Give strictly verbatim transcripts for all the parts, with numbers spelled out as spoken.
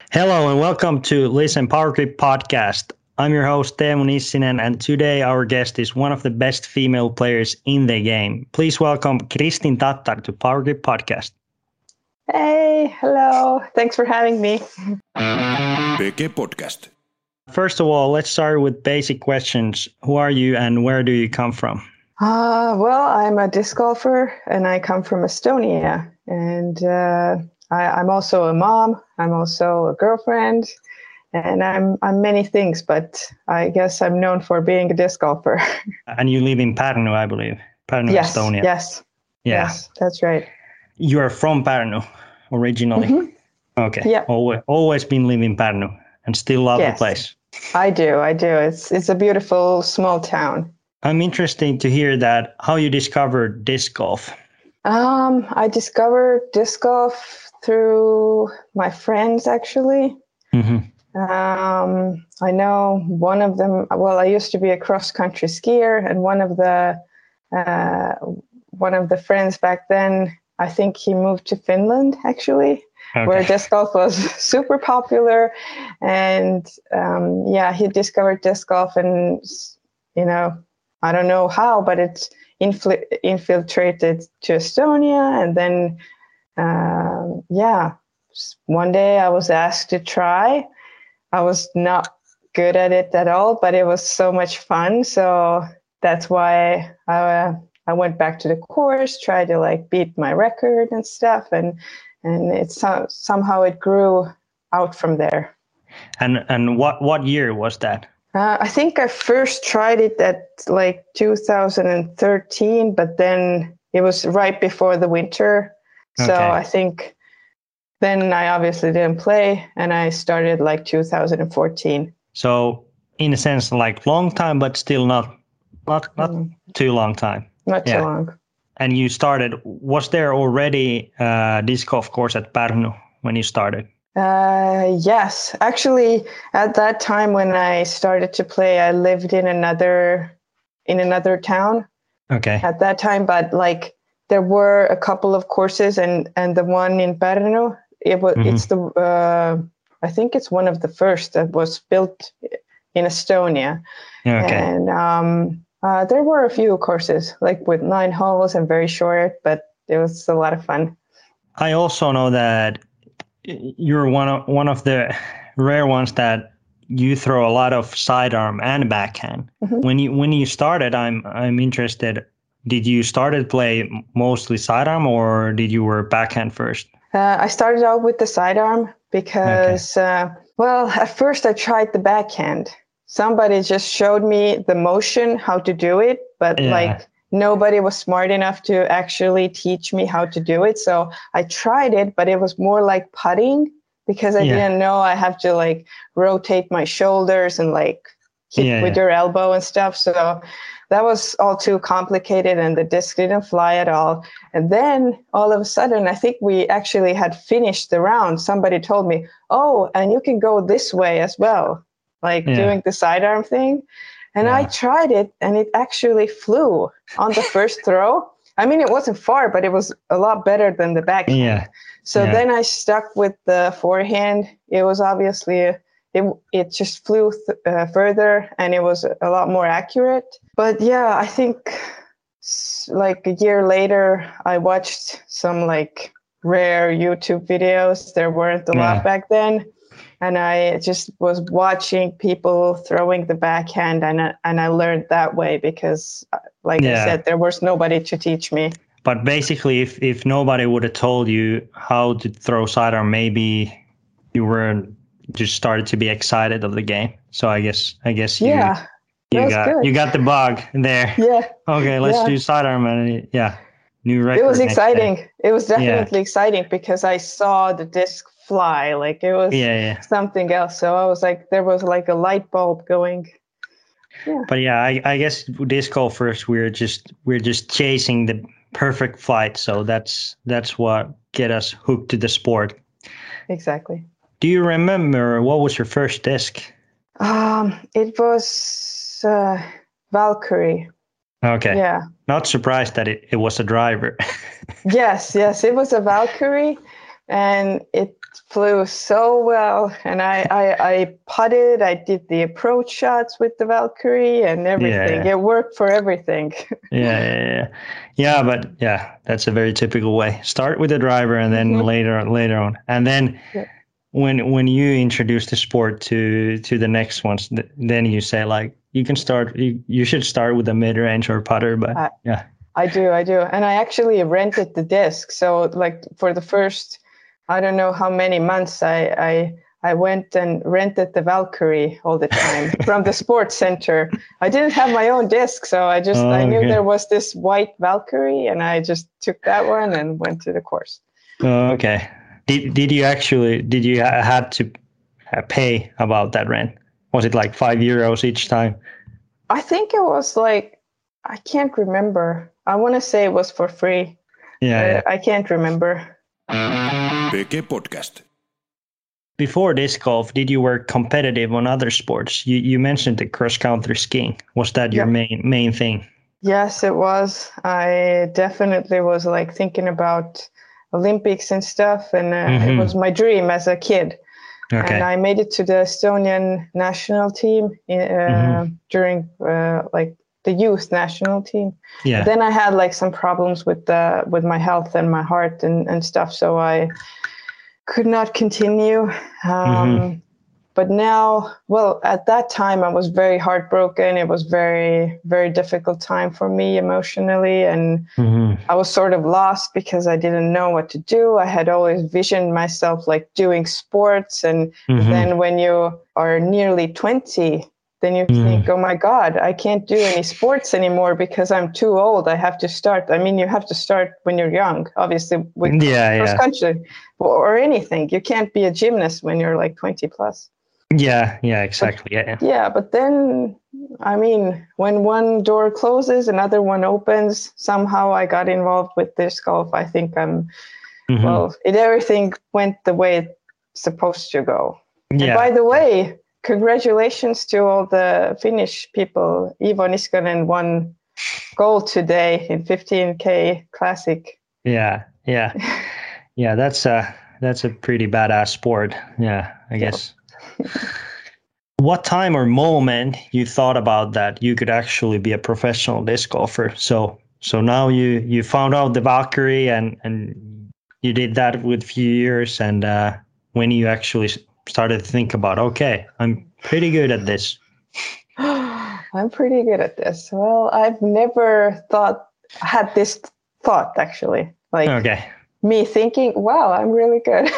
Hello and welcome to Listen Power Grip podcast. I'm your host Teemu Nissinen, and today our guest is one of the best female players in the game. Please welcome Kristin Tattar to Power Grip podcast. Hey, hello. Thanks for having me. P G Podcast. First of all, let's start with basic questions. Who are you and where do you come from? Uh, well, I'm a disc golfer and I come from Estonia. And uh, I, I'm also a mom. I'm also a girlfriend. And I'm I'm many things, but I guess I'm known for being a disc golfer. And you live in Pärnu, I believe. Pärnu, yes, Estonia. yes. Yeah. Yes, that's right. You are from Pärnu originally? Mm-hmm. Okay. Yeah. Always, always been living in Pärnu and still love Yes. the place. I do, I do. It's it's a beautiful small town. I'm interested to hear that how you discovered disc golf. Um, I discovered disc golf through my friends, actually. Mm-hmm. Um, I know one of them. Well, I used to be a cross-country skier, and one of the uh, one of the friends back then, I think he moved to Finland, actually, Okay. where disc golf was super popular. And um, yeah, he discovered disc golf, and you know, I don't know how, but it infl- infiltrated to Estonia, and then um, yeah, one day I was asked to try. I was not good at it at all, but it was so much fun. So that's why I, uh, I went back to the course, tried to like beat my record and stuff. And, and it's so, somehow it grew out from there. And and what, what year was that? Uh, I think I first tried it at like two thousand thirteen, but then it was right before the winter. So Okay. I think then I obviously didn't play, and I started like two thousand fourteen. So in a sense, like long time, but still not not not Mm. too long time. Not Yeah. too long. And you started. Was there already a disc golf course at Pärnu when you started? Uh, yes, actually, at that time when I started to play, I lived in another in another town Okay. at that time. But like there were a couple of courses, and and the one in Pärnu, it was Mhm. it's the uh, I think it's one of the first that was built in Estonia. Okay. And um, uh, there were a few courses like with nine holes and very short, but it was a lot of fun. I also know that you're one of one of the rare ones that you throw a lot of sidearm and backhand. Mhm. When you when you started, I'm I'm interested. Did you started play mostly sidearm or did you were backhand first? Uh, I started out with the sidearm because, uh, well, at first I tried the backhand. Somebody just showed me the motion, how to do it, but Yeah. like nobody was smart enough to actually teach me how to do it. So I tried it, but it was more like putting because I Yeah. didn't know I have to like rotate my shoulders and like hit Yeah, with yeah. your elbow and stuff. So that was all too complicated, and the disc didn't fly at all. And then all of a sudden, I think we actually had finished the round. Somebody told me, oh, and you can go this way as well, like Yeah. doing the sidearm thing. And I Yeah. tried it, and it actually flew on the first throw. I mean, it wasn't far, but it was a lot better than the backhand. Yeah. So Yeah. then I stuck with the forehand. It was obviously, it, it just flew th- uh, further, and it was a lot more accurate. But yeah, I think s- like a year later, I watched some like rare YouTube videos. There weren't a Yeah. lot back then. And I just was watching people throwing the backhand, and I, and I learned that way because, uh, like Yeah. I said, there was nobody to teach me. But basically, if, if nobody would have told you how to throw sidearm, maybe you were just started to be excited of the game. So I guess I guess you Yeah, that you was got good. you got the bug there. Yeah, Okay, let's yeah. do sidearm and yeah, new record. It was next day. exciting. It was definitely exciting because I saw the disc fly. Like it was Yeah, yeah. something else. So I was like, there was like a light bulb going. Yeah. But yeah, I, I guess disc golfers we're just we're just chasing the perfect flight. So that's that's what get us hooked to the sport. Exactly. Do you remember what was your first disc? Um, it was uh, Valkyrie. Okay. Yeah. Not surprised that it, it was a driver. Yes, yes. It was a Valkyrie, and it flew so well, and I, I I putted. I did the approach shots with the Valkyrie and everything. Yeah. It worked for everything. Yeah, yeah, yeah, yeah. But yeah, that's a very typical way. Start with the driver, and then Mhm. later, later on, and then Yeah. when when you introduce the sport to to the next ones, th- then you say like you can start. You, you should start with a mid range or putter. But I, yeah, I do, I do, and I actually rented the disc. So like for the first, I don't know how many months, I I I went and rented the Valkyrie all the time from the sports center. I didn't have my own disc, so I just I knew okay, there was this white Valkyrie, and I just took that one and went to the course. okay. Did did you actually did you ha- had to uh, pay about that rent? Was it like five euros each time? I think it was like, I can't remember. I want to say it was for free, Yeah, but yeah. I can't remember. P G Podcast. Before disc golf, did you work competitive on other sports? You you mentioned the cross country skiing. Was that your Yeah. main main thing? Yes, it was. I definitely was like thinking about Olympics and stuff, and uh, Mhm. it was my dream as a kid. Okay. And I made it to the Estonian national team uh, Mhm. during uh, like the youth national team. Yeah. But then I had like some problems with the with my health and my heart and, and stuff, so I could not continue. Um, Mhm. But now, well, at that time I was very heartbroken. It was very, very difficult time for me emotionally, and Mhm. I was sort of lost because I didn't know what to do. I had always visioned myself like doing sports, and Mhm. then when you are nearly twenty, then you Mhm. think, oh my God, I can't do any sports anymore because I'm too old. I have to start. I mean, you have to start when you're young, obviously, with Yeah, cross yeah. country or anything. You can't be a gymnast when you're like twenty plus. Yeah, yeah, exactly. Yeah. Yeah, but then, I mean, when one door closes, another one opens. Somehow I got involved with disc golf. I think I'm, Mhm. well, it everything went the way it's supposed to go. And Yeah. by the way, congratulations to all the Finnish people. Ivo Niskanen won gold today in fifteen K Classic. Yeah, yeah. Yeah, that's a that's a pretty badass sport. Yeah, I guess. What time or moment you thought about that you could actually be a professional disc golfer? So so now you you found out the Valkyrie and and you did that with few years, and uh, when you actually s- started to think about, okay, I'm pretty good at this. I'm pretty good at this. Well, I've never thought, had this thought actually. Like, Okay. me thinking, wow, I'm really good.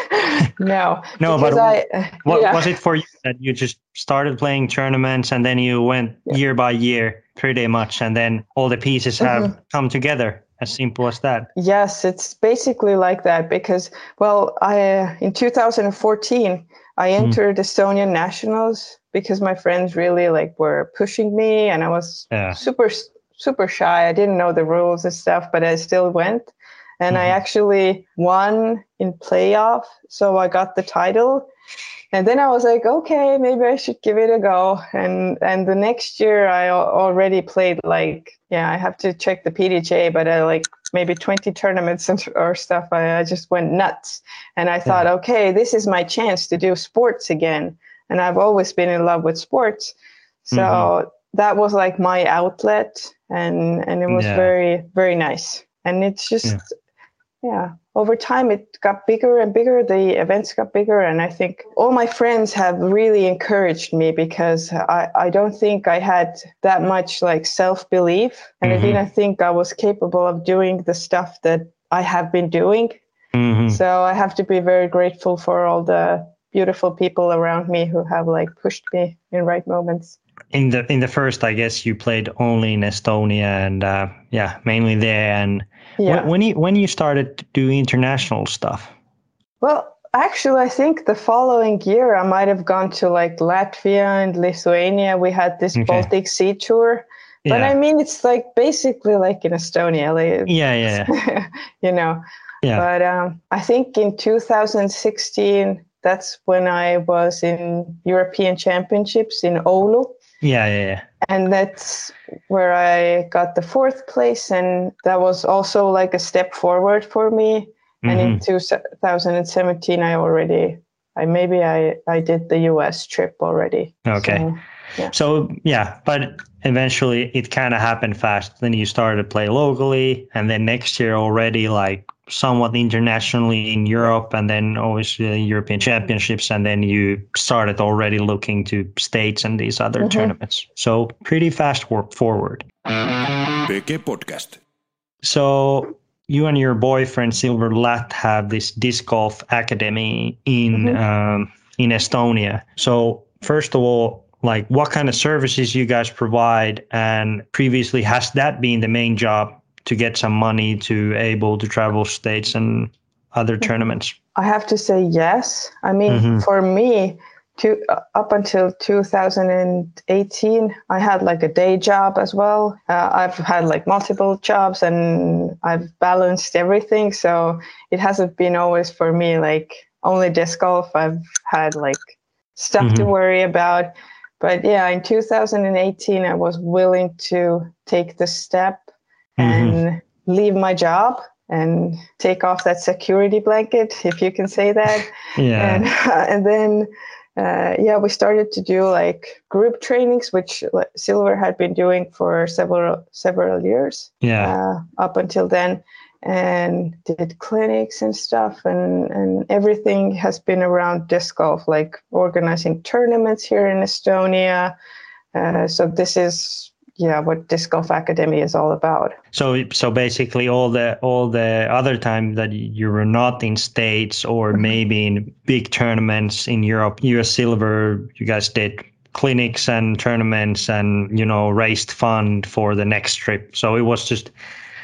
No, No, because but I, what yeah. was it for you that you just started playing tournaments and then you went Yeah. year by year pretty much, and then all the pieces have Mhm. come together? As simple as that. Yes, it's basically like that because, well, I in two thousand fourteen I entered Estonian nationals because my friends really like were pushing me, and I was Yeah. super super shy. I didn't know the rules and stuff, but I still went, and I Mhm. actually won in playoff, so I got the title. And then I was like, okay, maybe I should give it a go. And and the next year I al- already played like, yeah, I have to check the P D G A, but I like maybe twenty tournaments and, or stuff. I, I just went nuts. And I thought, Yeah. okay, this is my chance to do sports again. And I've always been in love with sports. So Mhm. that was like my outlet. And, and it was Yeah. very, very nice. And it's just, Yeah. yeah, over time it got bigger and bigger. The events got bigger, and I think all my friends have really encouraged me because I, I don't think I had that much like self-belief, and Mhm. I didn't think I was capable of doing the stuff that I have been doing. Mhm. So I have to be very grateful for all the beautiful people around me who have like pushed me in right moments. In the in the first, I guess you played only in Estonia, and uh, yeah, mainly there. And when Yeah. when you when you started to do international stuff. Well, actually, I think the following year I might have gone to like Latvia and Lithuania. We had this Okay. Baltic Sea tour. But Yeah. I mean, it's like basically like in Estonia, like, Yeah. Yeah. you know. Yeah. But um, I think in two thousand sixteen, that's when I was in European Championships in Oulu. Yeah. Yeah. Yeah. And that's where I got the fourth place. And that was also like a step forward for me. And in two thousand seventeen, I already, I maybe I, I did the U S trip already. Okay. So, yeah. So, yeah, but eventually it kind of happened fast. Then you started to play locally, and then next year already like somewhat internationally in Europe, and then obviously European Championships, and then you started already looking to states and these other mm-hmm. tournaments. So pretty fast work forward. P K Podcast. So you and your boyfriend Silver Lat have this disc golf academy in mm-hmm. um, in Estonia. So first of all, like what kind of services you guys provide, and previously has that been the main job to get some money to able to travel states and other mm-hmm. tournaments? I have to say yes. I mean, mm-hmm. for me, to, uh, up until two thousand eighteen, I had like a day job as well. Uh, I've had like multiple jobs and I've balanced everything. So it hasn't been always for me like only disc golf. I've had like stuff mm-hmm. to worry about. But yeah, in two thousand eighteen, I was willing to take the step mm-hmm. and leave my job and take off that security blanket, if you can say that. Yeah. And, uh, and then, uh, yeah, we started to do like group trainings, which Silver had been doing for several several years. Yeah. Uh, up until then, and did clinics and stuff, and, and everything has been around disc golf, like organizing tournaments here in Estonia. Uh, so this is, yeah, what Disc Golf Academy is all about. So, so basically, all the all the other time that you were not in states or maybe in big tournaments in Europe, U S Silver, you guys did clinics and tournaments, and you know raised fund for the next trip. So it was just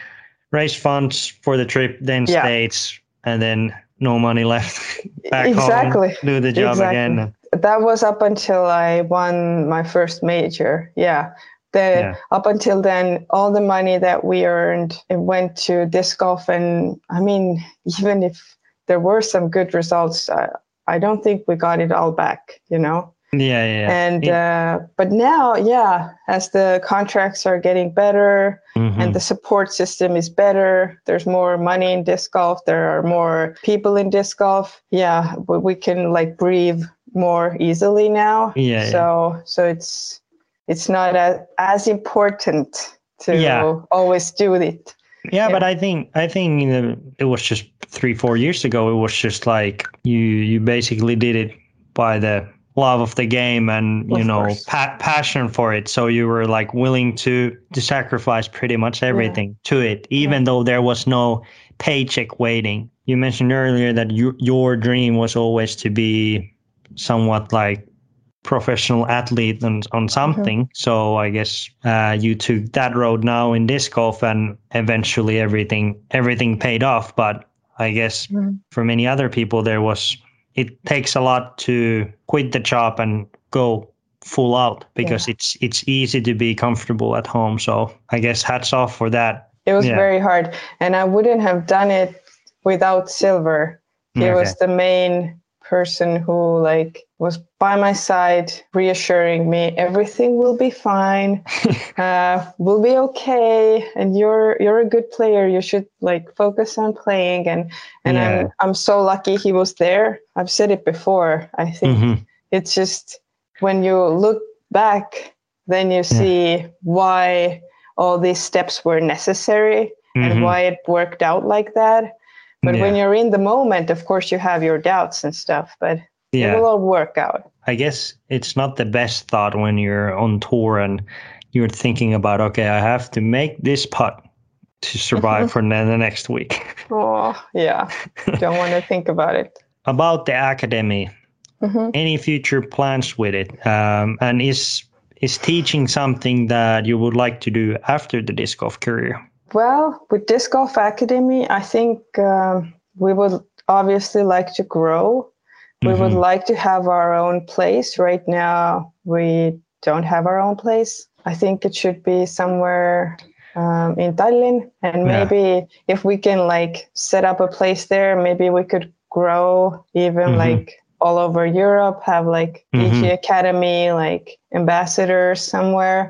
raise funds for the trip, then yeah. states, and then no money left back exactly. home. Do the job exactly. again. That was up until I won my first major. Yeah. The, yeah. Up until then, all the money that we earned, it went to disc golf. And I mean, even if there were some good results, I, I don't think we got it all back, you know? Yeah, yeah. And, yeah. Uh, but now, yeah, as the contracts are getting better mm-hmm. and the support system is better, there's more money in disc golf, there are more people in disc golf. Yeah, we can like breathe more easily now. Yeah. So, yeah. so it's, it's not as, as important to yeah. always do it. Yeah, yeah, but I think I think you know, it was just three, four years ago. It was just like you you basically did it by the love of the game and you of know pa- passion for it. So you were like willing to to sacrifice pretty much everything yeah. to it, even yeah. though there was no paycheck waiting. You mentioned earlier that you, your dream was always to be somewhat like professional athlete on, on something. Mm-hmm. So I guess uh, you took that road now in disc golf, and eventually everything everything paid off. But I guess mm-hmm. for many other people, there was it takes a lot to quit the job and go full out, because yeah. it's it's easy to be comfortable at home. So I guess hats off for that. It was yeah. very hard, and I wouldn't have done it without Silver. He okay. was the main person who like was by my side, reassuring me everything will be fine, uh, we'll be okay, and you're you're a good player. You should like focus on playing. And and yeah. I'm I'm so lucky he was there. I've said it before. I think mm-hmm. it's just when you look back, then you see yeah. why all these steps were necessary mm-hmm. and why it worked out like that. But yeah. when you're in the moment, of course, you have your doubts and stuff, but yeah. it will all work out. I guess it's not the best thought when you're on tour and you're thinking about, okay, I have to make this putt to survive for the next week. Oh, yeah. Don't want to think about it. About the academy, mm-hmm. any future plans with it? Um, and is is teaching something that you would like to do after the disc golf career? Well, with Disc Golf Academy, I think um, we would obviously like to grow. We mm-hmm. would like to have our own place. Right now, we don't have our own place. I think it should be somewhere um, in Tallinn. And maybe yeah. if we can like set up a place there, maybe we could grow even mm-hmm. like all over Europe, have like mm-hmm. E G Academy, like ambassadors somewhere.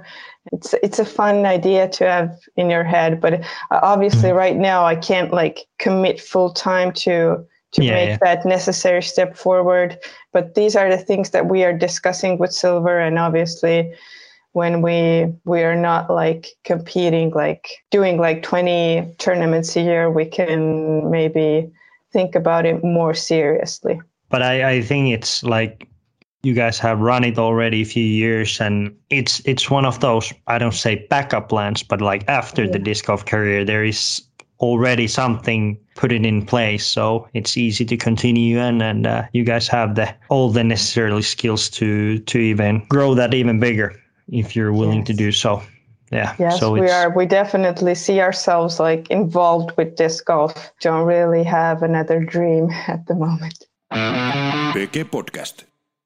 it's it's a fun idea to have in your head, but uh, obviously mm-hmm. right now I can't like commit full time to to yeah, make yeah. that necessary step forward. But these are the things that we are discussing with Silver, and obviously when we we are not like competing, like doing like twenty tournaments a year, we can maybe think about it more seriously. But I, I think it's like you guys have run it already a few years, and it's it's one of those, I don't say backup plans, but like after yeah. the disc golf career, there is already something put it in place, so it's easy to continue, and and uh, you guys have the all the necessary skills to to even grow that even bigger if you're willing yes. to do so. Yeah. Yes, so we are. We definitely see ourselves like involved with disc golf. Don't really have another dream at the moment. P G Podcast.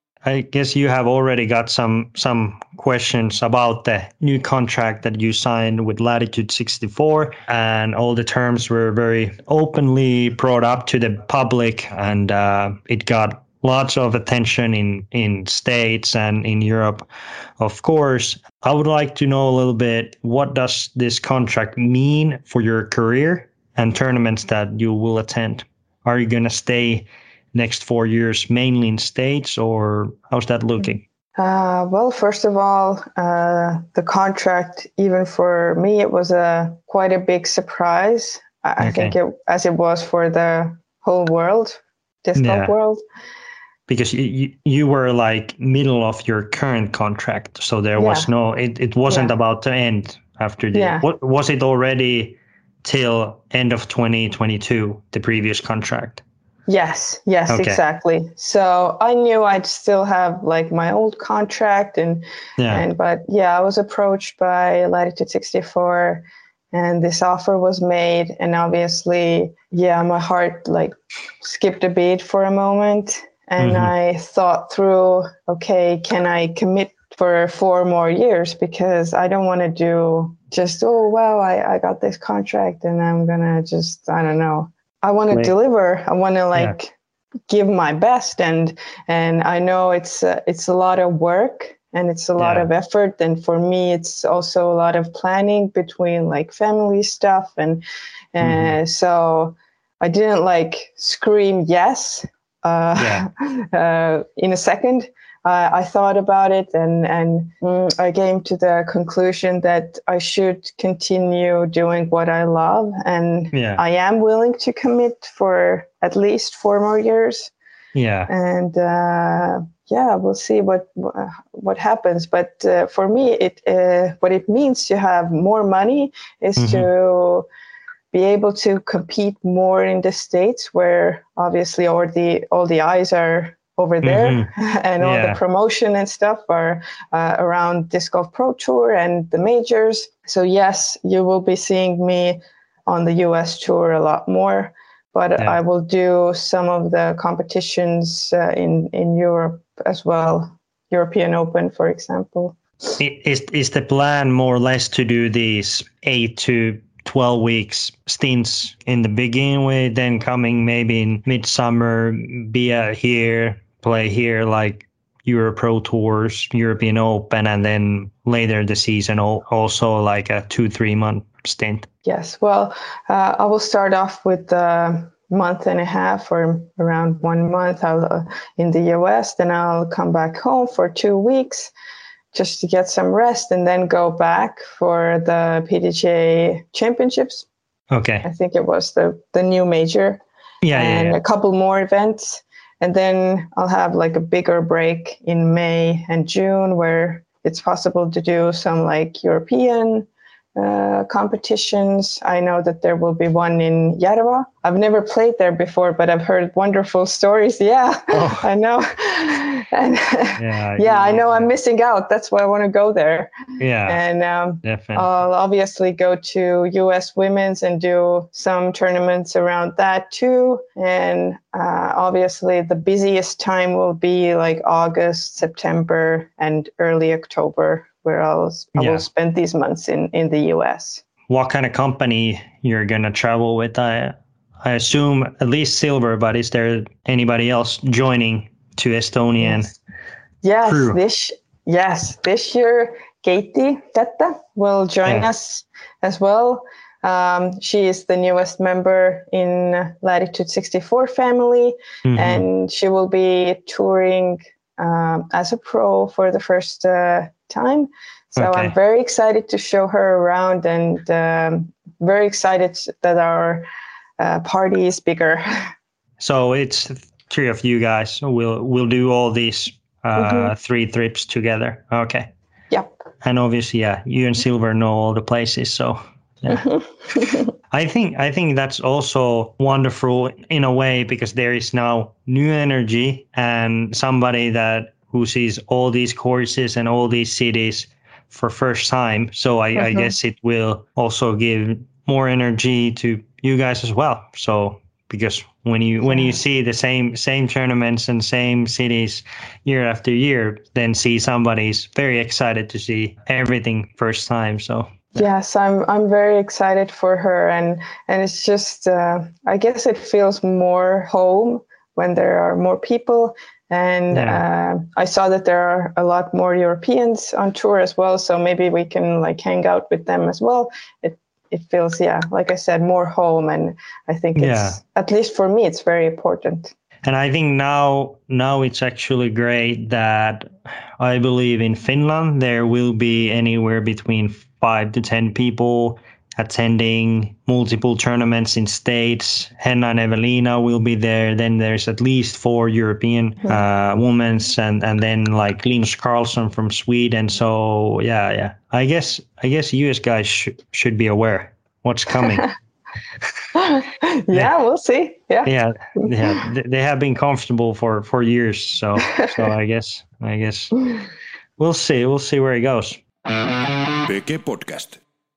I guess you have already got some some questions about the new contract that you signed with Latitude sixty-four, and all the terms were very openly brought up to the public, and uh, it got lots of attention in, in States and in Europe, of course. I would like to know a little bit, what does this contract mean for your career and tournaments that you will attend? Are you going to stay next four years mainly in States, or how's that looking? Uh, well, first of all, uh, the contract, even for me, it was a quite a big surprise. I, okay. I think it, as it was for the whole world, disc golf yeah. world. Because you, you you were like middle of your current contract, so there yeah. was no, it, it wasn't yeah. about to end after the, yeah. what, was it already till end of twenty twenty-two, the previous contract? Yes, yes, okay. exactly. So I knew I'd still have like my old contract, and yeah. and but yeah, I was approached by Latitude sixty-four, and this offer was made, and obviously, yeah, my heart like skipped a beat for a moment, and mm-hmm. I thought through, okay, can I commit for four more years? Because I don't want to do just, oh wow, I, I got this contract and I'm gonna just, I don't know. I want to deliver. I want to like yeah. give my best, and and I know it's uh, it's a lot of work and it's a lot yeah. of effort, and for me it's also a lot of planning between like family stuff, and uh, mm-hmm. so I didn't like scream yes uh, yeah. uh, in a second. Uh, I thought about it, and and mm, I came to the conclusion that I should continue doing what I love, and yeah. I am willing to commit for at least four more years. Yeah, and uh, yeah, we'll see what what happens. But uh, for me, it uh, what it means to have more money is mm-hmm. to be able to compete more in the States, where obviously all the all the eyes are over there, mm-hmm. and all yeah. the promotion and stuff are uh, around Disc Golf Pro Tour and the majors. So yes, you will be seeing me on the U S tour a lot more, but yeah. I will do some of the competitions uh, in, in Europe as well. European Open, for example. Is, is the plan more or less to do these eight to twelve weeks stints in the beginning, with then coming maybe in midsummer, be out here, play here like Euro Pro Tours, European Open, and then later the season also like a two, three month stint? Yes, well, uh, I will start off with a month and a half or around one month I'll, uh, in the U S, then I'll come back home for two weeks just to get some rest, and then go back for the P D G A Championships. Okay. I think it was the, the new major. Yeah, and yeah, yeah. a couple more events. And then I'll have like a bigger break in May and June, where it's possible to do some like European uh, competitions. I know that there will be one in Järva. I've never played there before, but I've heard wonderful stories. Yeah, oh. I know. And yeah, yeah, I know I'm missing out. That's why I want to go there. Yeah, and um, definitely. I'll obviously go to U S Women's and do some tournaments around that too. And uh, obviously the busiest time will be like August, September, and early October, where I'll I yeah. will spend these months in, in the U S. What kind of company you're gonna travel with? I I assume at least Silver, but is there anybody else joining to Estonian yes. yes crew? This yes, this year Katie Tetta will join Yeah. us as well. Um, she is the newest member in Latitude sixty-four family, Mhm. and she will be touring um, as a pro for the first uh, time. So Okay. I'm very excited to show her around, and um, very excited that our uh, party is bigger. So it's three of you guys. So we'll we'll do all these uh, Mhm. three trips together. Okay. Yep. And obviously, yeah, you and Silver know all the places. So yeah. I think I think that's also wonderful in a way because there is now new energy and somebody that who sees all these courses and all these cities for first time. So I, I Mhm. guess it will also give more energy to you guys as well. So because when you when you Yeah. see the same same tournaments and same cities year after year, then see somebody's very excited to see everything first time. So Yes, I'm I'm very excited for her, and and it's just uh, I guess it feels more home when there are more people, and yeah. uh, I saw that there are a lot more Europeans on tour as well, so maybe we can like hang out with them as well. It it feels, yeah, like I said, more home, and I think it's, Yeah. at least for me, it's very important. And I think now now it's actually great that I believe in Finland there will be anywhere between five to ten people attending multiple tournaments in states. Henna and Evelina will be there. Then there's at least four European uh, women's and and then like Linus Karlsson from Sweden. So yeah, yeah. I guess I guess you guys sh- should be aware what's coming. Yeah, we'll see. Yeah. Yeah, yeah, th- they have been comfortable for for years, so so I guess I guess we'll see, we'll see where it goes. P G Podcast.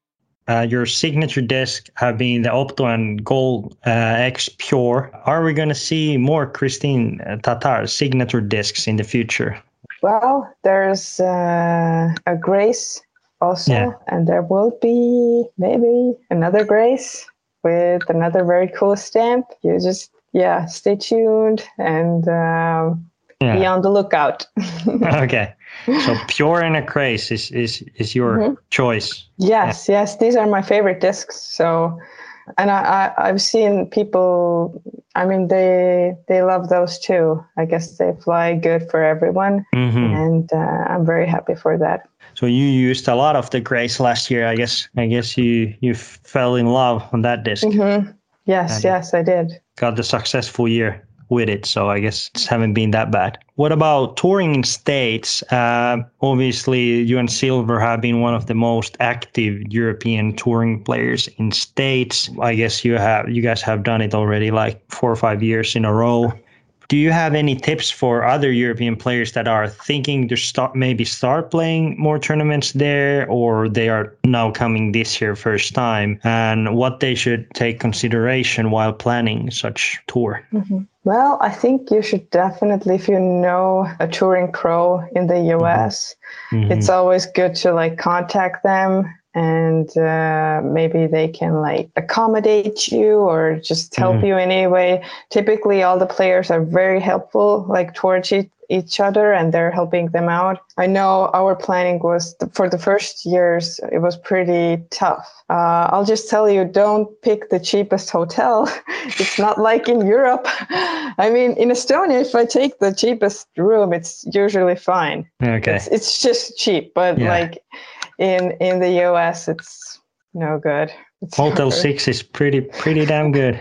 Uh, your signature disc have been the Opto and Gold uh, X Pure. Are we going to see more Christine Tatar signature discs in the future? Well, there's uh, a Grace also, Yeah. and there will be maybe another Grace with another very cool stamp. You just, yeah, stay tuned and um, be Yeah. on the lookout. Okay. So Pure and a Craze is is is your Mhm. choice. Yes, yes, these are my favorite discs. So, and I, I I've seen people. I mean, they they love those too. I guess they fly good for everyone, Mhm. and uh, I'm very happy for that. So you used a lot of the Grace last year. I guess I guess you you fell in love on that disc. Mm-hmm. Yes, And yes, I did. got the successful year with it, so I guess it haven't been that bad. What about touring in states? Uh, obviously, you and Silver have been one of the most active European touring players in states. I guess you have you guys have done it already like four or five years in a row. Do you have any tips for other European players that are thinking to start maybe start playing more tournaments there, or they are now coming this year first time, and what they should take consideration while planning such tour? Mm-hmm. Well, I think you should definitely, if you know a touring pro in the U S, Mm-hmm. it's always good to like contact them, and uh, maybe they can like accommodate you or just help Mhm. you in any way. Typically, all the players are very helpful, like towards each, each other, and they're helping them out. I know our planning was for the first years, it was pretty tough. Uh, I'll just tell you, don't pick the cheapest hotel. It's not like in Europe. I mean, in Estonia, if I take the cheapest room, it's usually fine. Okay. It's it's just cheap, but Yeah. like in in the U S, it's no good. It's Motel very- Six is pretty pretty damn good.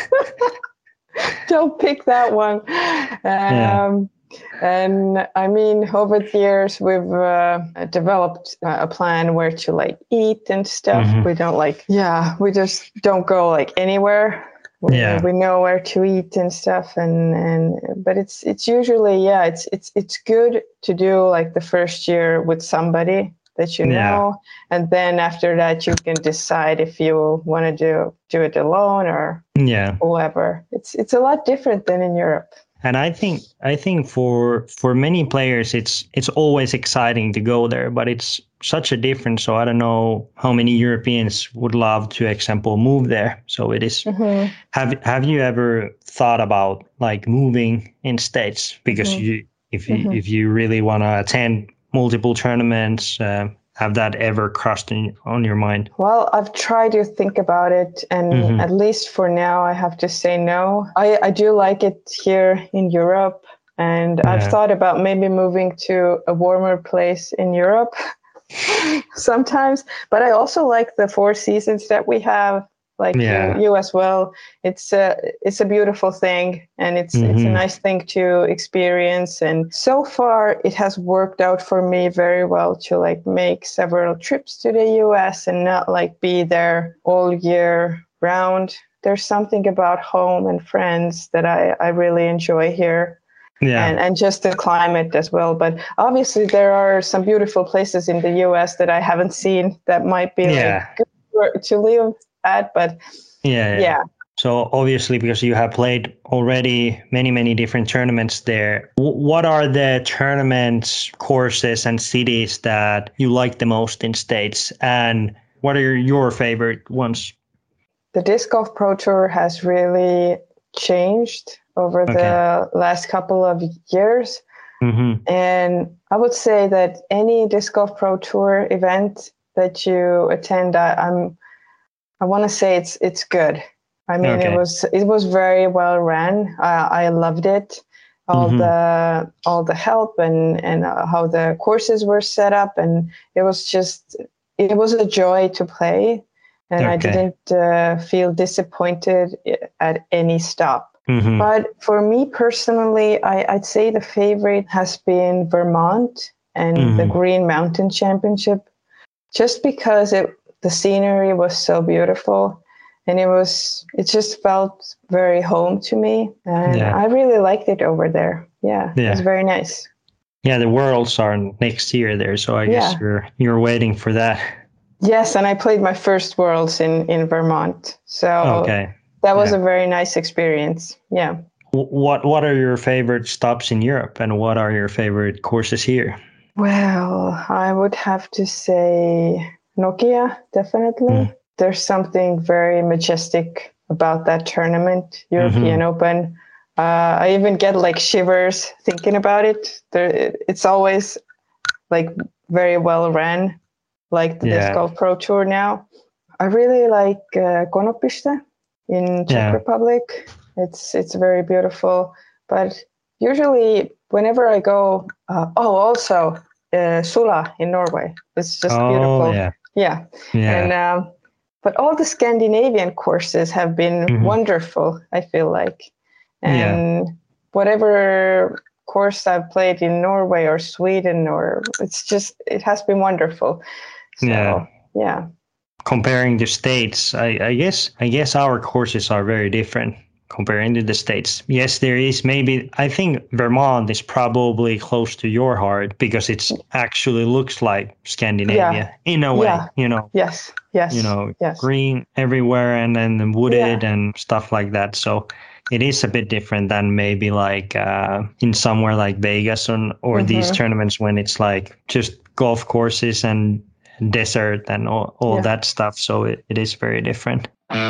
Don't pick that one. Yeah. Um, and I mean, over the years, we've uh, developed a plan where to like eat and stuff. Mhm. We don't like, yeah, we just don't go like anywhere. We, Yeah. we know where to eat and stuff, and and but it's it's usually, yeah, it's it's it's good to do like the first year with somebody that you Yeah. know, and then after that you can decide if you want to do do it alone or Yeah. whoever. It's it's a lot different than in Europe. And I think I think for for many players it's it's always exciting to go there, but it's such a difference. So I don't know how many Europeans would love to, example, move there. So it is. Mm-hmm. Have Have you ever thought about like moving in states? Because Mhm. you if you Mhm. if you really want to attend multiple tournaments, uh, have that ever crossed in, on your mind? Well, I've tried to think about it, and mm-hmm. at least for now, I have to say no. I, I do like it here in Europe, and yeah. I've thought about maybe moving to a warmer place in Europe sometimes. But I also like the four seasons that we have. Like yeah. you, you as well. It's a it's a beautiful thing, and it's mm-hmm. it's a nice thing to experience. And so far, it has worked out for me very well to like make several trips to the U S and not like be there all year round. There's something about home and friends that I, I really enjoy here. Yeah. And, and just the climate as well. But obviously, there are some beautiful places in the U S that I haven't seen that might be yeah. like good to live at, but yeah, yeah yeah so obviously, because you have played already many many different tournaments there, w- what are the tournaments, courses and cities that you like the most in States, and what are your favorite ones? The Disc Golf Pro Tour has really changed over okay. the last couple of years, mm-hmm. and I would say that any Disc Golf Pro Tour event that you attend, I, I'm I want to say it's it's good. I mean, okay. it was it was very well ran. I, I loved it. All mm-hmm. the all the help and and uh, how the courses were set up, and it was just it was a joy to play, and okay. I didn't uh, feel disappointed at any stop. Mm-hmm. But for me personally, I, I'd say the favorite has been Vermont and mm-hmm. the Green Mountain Championship, just because it. The scenery was so beautiful, and it was it just felt very home to me, and yeah. I really liked it over there. Yeah, yeah, it was very nice. Yeah, the Worlds are next year there, so I yeah. guess you're you're waiting for that. Yes, and I played my first Worlds in, in Vermont, so okay. that was yeah. a very nice experience. Yeah. What What are your favorite stops in Europe, and what are your favorite courses here? Well, I would have to say Nokia, definitely. Mm. There's something very majestic about that tournament, European mm-hmm. Open. Uh, I even get like shivers thinking about it. There, it's always like very well ran, like the yeah. Disc Golf Pro Tour now. I really like uh, Konopiste in Czech yeah. Republic. It's it's very beautiful. But usually, whenever I go, uh, oh, also uh, Sula in Norway. It's just oh, beautiful. Yeah. Yeah. yeah. And um, but all the Scandinavian courses have been mm-hmm. wonderful, I feel like. And yeah. whatever course I've played in Norway or Sweden, or it's just it has been wonderful. So, yeah. Yeah. Comparing the States, I, I guess I guess our courses are very different comparing to the States. Yes, there is maybe, I think Vermont is probably close to your heart because it actually looks like Scandinavia yeah. in a way, yeah. you know. Yes, yes. You know, yes. green everywhere and then wooded yeah. and stuff like that. So it is a bit different than maybe like uh, in somewhere like Vegas or, or mm-hmm. these tournaments when it's like just golf courses and desert and all, all yeah. that stuff. So it, it is very different.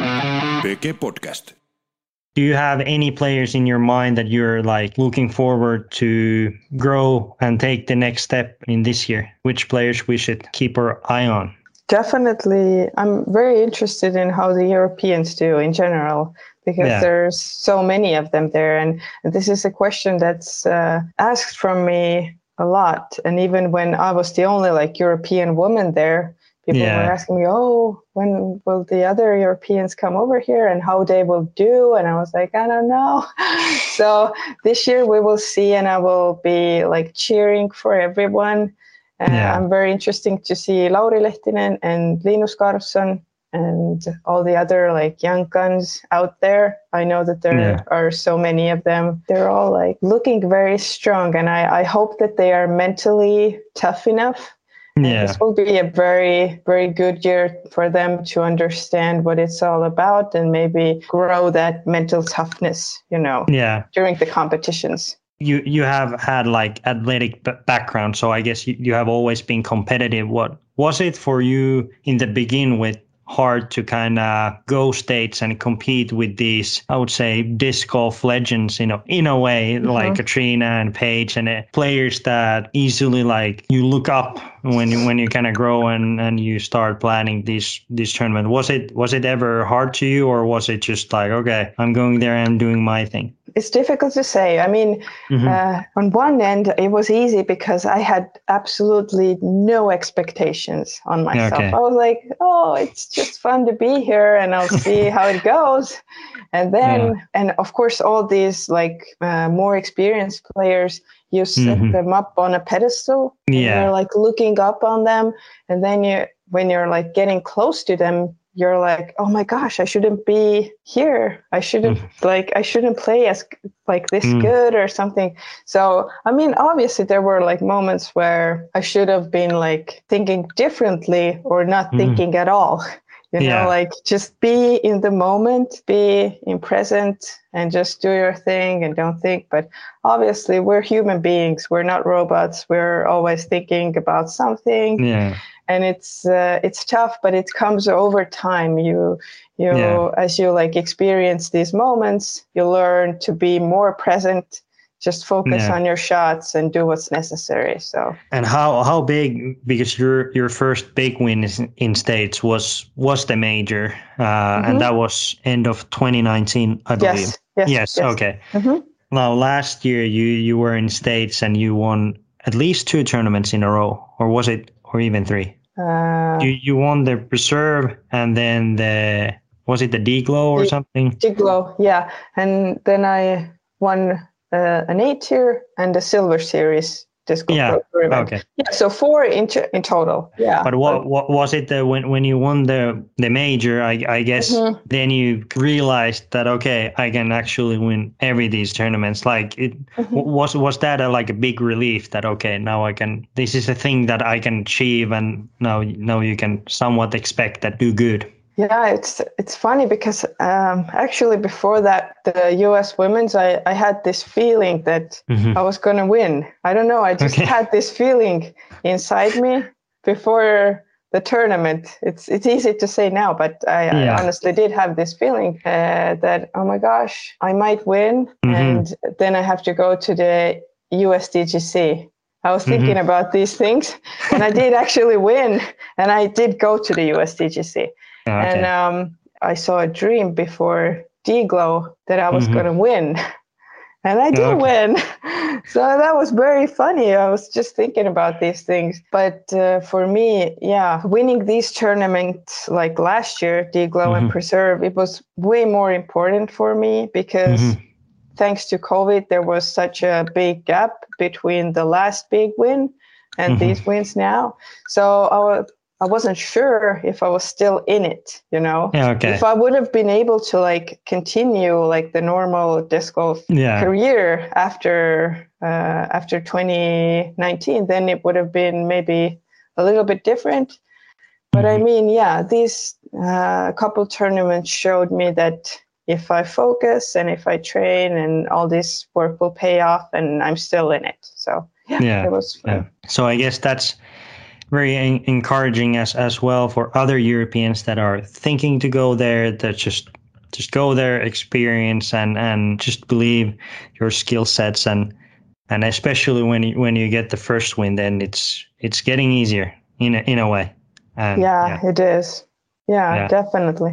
P K Podcast. Do you have any players in your mind that you're like looking forward to grow and take the next step in this year? Which players we should keep our eye on? Definitely. I'm very interested in how the Europeans do in general, because yeah. there's so many of them there. And this is a question that's uh, asked from me a lot. And even when I was the only like European woman there, people yeah. were asking me, oh, when will the other Europeans come over here and how they will do? And I was like, I don't know. So this year we will see, and I will be like cheering for everyone. Uh, yeah. I'm very interested to see Lauri Lehtinen and Linus Karlsson and all the other like young guns out there. I know that there yeah. are so many of them. They're all like looking very strong, and I, I hope that they are mentally tough enough. Yeah. This will be a very, very good year for them to understand what it's all about and maybe grow that mental toughness, you know, yeah. during the competitions. You you have had like athletic b- background, so I guess you, you have always been competitive. What was it for you in the beginning with hard to kind of go states and compete with these, I would say, disc golf legends, you know, in a way, mm-hmm. like Katrina and Paige and uh, players that easily like you look up when you when you kind of grow and, and you start planning these these tournament? Was it was it ever hard to you, or was it just like, okay, I'm going there, I'm doing my thing? It's difficult to say. I mean, mm-hmm. uh, on one end, it was easy because I had absolutely no expectations on myself. Okay. I was like, oh, it's just fun to be here and I'll see how it goes. And then, yeah. and of course, all these like uh, more experienced players, you set mm-hmm. them up on a pedestal. Yeah. And you're like looking up on them. And then you, when you're like getting close to them, you're like, oh my gosh, I shouldn't be here. I shouldn't mm. like, I shouldn't play as like this mm. good or something. So, I mean, obviously there were like moments where I should have been like thinking differently or not mm. thinking at all. You know, yeah. like just be in the moment, be in present and just do your thing and don't think. But obviously we're human beings. We're not robots. We're always thinking about something. Yeah. And it's uh, it's tough, but it comes over time. You you yeah. as you like experience these moments, you learn to be more present. Just focus yeah. on your shots and do what's necessary. So. And how how big? Because your your first big win is in States was was the major, uh, mm-hmm. and that was end of twenty nineteen, I believe. Yes. Yes. Yes. yes. Okay. Mm-hmm. Now last year you you were in States and you won at least two tournaments in a row, or was it? Or even three. Uh, you you won the reserve and then the was it the D-Glow or D- something? D-Glow, yeah. And then I won uh, an A tier and a silver series disc golf yeah. pro event. Okay. Yeah, so four in, t- in total. Yeah. But what but, what was it the, when when you won the the major? I I guess mm-hmm. then you realized that okay, I can actually win every these tournaments. Like it mm-hmm. was was that a, like a big relief that okay, now I can. This is a thing that I can achieve, and now now you can somewhat expect that do good. Yeah, it's it's funny because um, actually before that, the U S women's, I, I had this feeling that mm-hmm. I was going to win. I don't know. I just okay. had this feeling inside me before the tournament. It's it's easy to say now, but I, yeah. I honestly did have this feeling uh, that, oh my gosh, I might win. Mm-hmm. And then I have to go to the U S D G C. I was thinking mm-hmm. about these things and I did actually win. And I did go to the U S D G C. Oh, okay. And um, I saw a dream before D-Glow that I was mm-hmm. going to win. And I did oh, okay. win. So that was very funny. I was just thinking about these things. But uh, for me, yeah, winning these tournaments like last year, D-Glow mm-hmm. and Preserve, it was way more important for me because mm-hmm. thanks to COVID, there was such a big gap between the last big win and mm-hmm. these wins now. So I was I wasn't sure if I was still in it, you know. Yeah, okay. If I would have been able to like continue like the normal disc golf yeah. career after uh, after twenty nineteen, then it would have been maybe a little bit different. But mm-hmm. I mean, yeah, these uh, couple tournaments showed me that if I focus and if I train and all this work will pay off, and I'm still in it. So yeah, yeah. it was fun. Yeah. So I guess that's very en- encouraging as as well for other Europeans that are thinking to go there, that just just go there, experience and and just believe your skill sets, and and especially when you when you get the first win, then it's it's getting easier in a, in a way. And, yeah, yeah, it is. Yeah, yeah. definitely.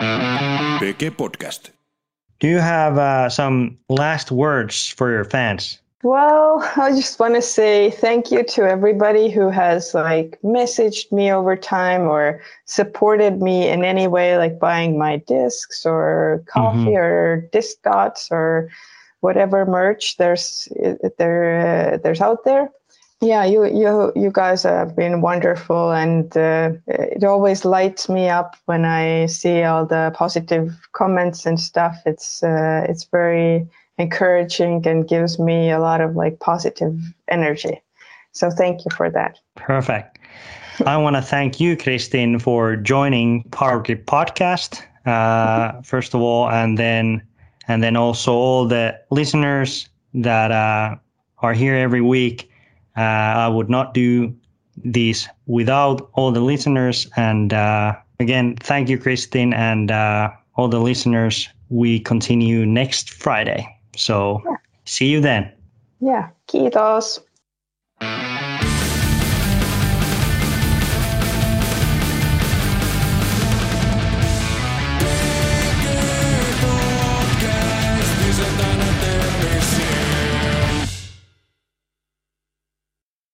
P G Podcast. Do you have uh, some last words for your fans? Well, I just want to say thank you to everybody who has like messaged me over time or supported me in any way, like buying my discs or coffee mm-hmm. or disc dots or whatever merch there's there uh, there's out there. Yeah, you you you guys have been wonderful, and uh, it always lights me up when I see all the positive comments and stuff. It's uh, it's very encouraging and gives me a lot of like positive energy. So thank you for that. Perfect. I want to thank you, Kristin, for joining Power Grip Podcast, uh, first of all, and then and then also all the listeners that uh, are here every week. Uh, I would not do these without all the listeners. And uh, again, thank you, Kristin, and uh, all the listeners. We continue next Friday. So yeah. See you then. Yeah, kiitos.